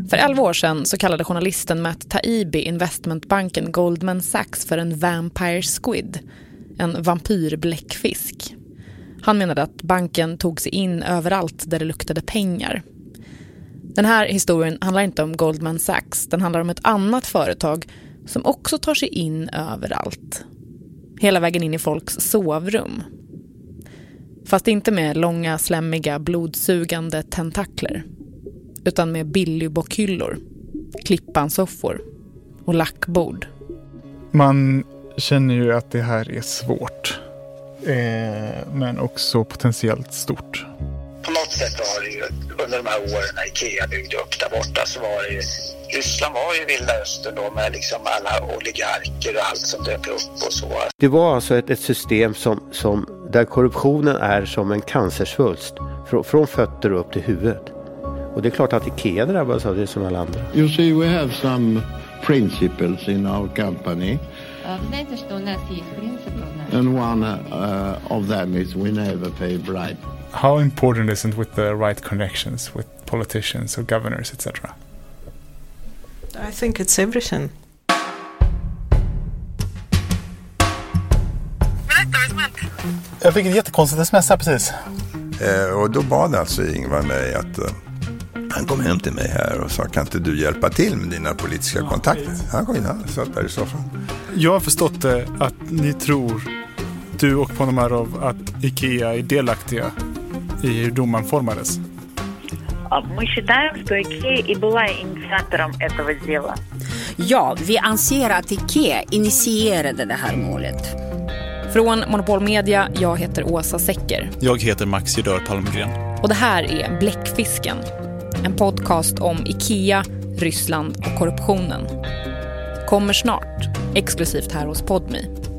För 11 år sedan så kallade journalisten Matt Taibbi investmentbanken Goldman Sachs för en vampire squid, en vampyrbläckfisk. Han menade att banken tog sig in överallt där det luktade pengar. Den här historien handlar inte om Goldman Sachs, den handlar om ett annat företag som också tar sig in överallt. Hela vägen in i folks sovrum. Fast inte med långa, slämmiga, blodsugande tentakler. Utan med billigbokhyllor, klippansoffor och lackbord. Man känner ju att det här är svårt. Men också potentiellt stort. På något sätt var det ju under de här åren när Ikea byggde upp där borta så var det ju, Ryssland var ju vilda östern då med liksom alla oligarker och allt som dök upp och så. Det var alltså ett system som där korruptionen är som en cancersvulst från fötter upp till huvudet. Och det är klart att Ikea drabbas av det som alla andra. You see, we have some principles in our company. Знаете, что у нас есть принципы? And one of them is we never pay bribe. How important is it with the right connections with politicians or governors, etc.? I think it's everything. Jag fick ett jättekonstigt sms här precis. Och då bad alltså Ingvar mig att han kom hem till mig här och sa, kan inte du hjälpa till med dina politiska kontakter? Han kom in här och satt där i soffan. Jag har förstått att ni tror, du och Ponomarov, att Ikea är delaktiga i hur domaren formades. Мы считаем, что Ikea и была инициатором этого дела. Ja, vi anser att Ikea initierade det här målet. Från Monopol Media, jag heter Åsa Secker. Jag heter Max Judör Palmgren. Och det här är Bläckfisken. En podcast om Ikea, Ryssland och korruptionen. Kommer snart, exklusivt här hos Podme.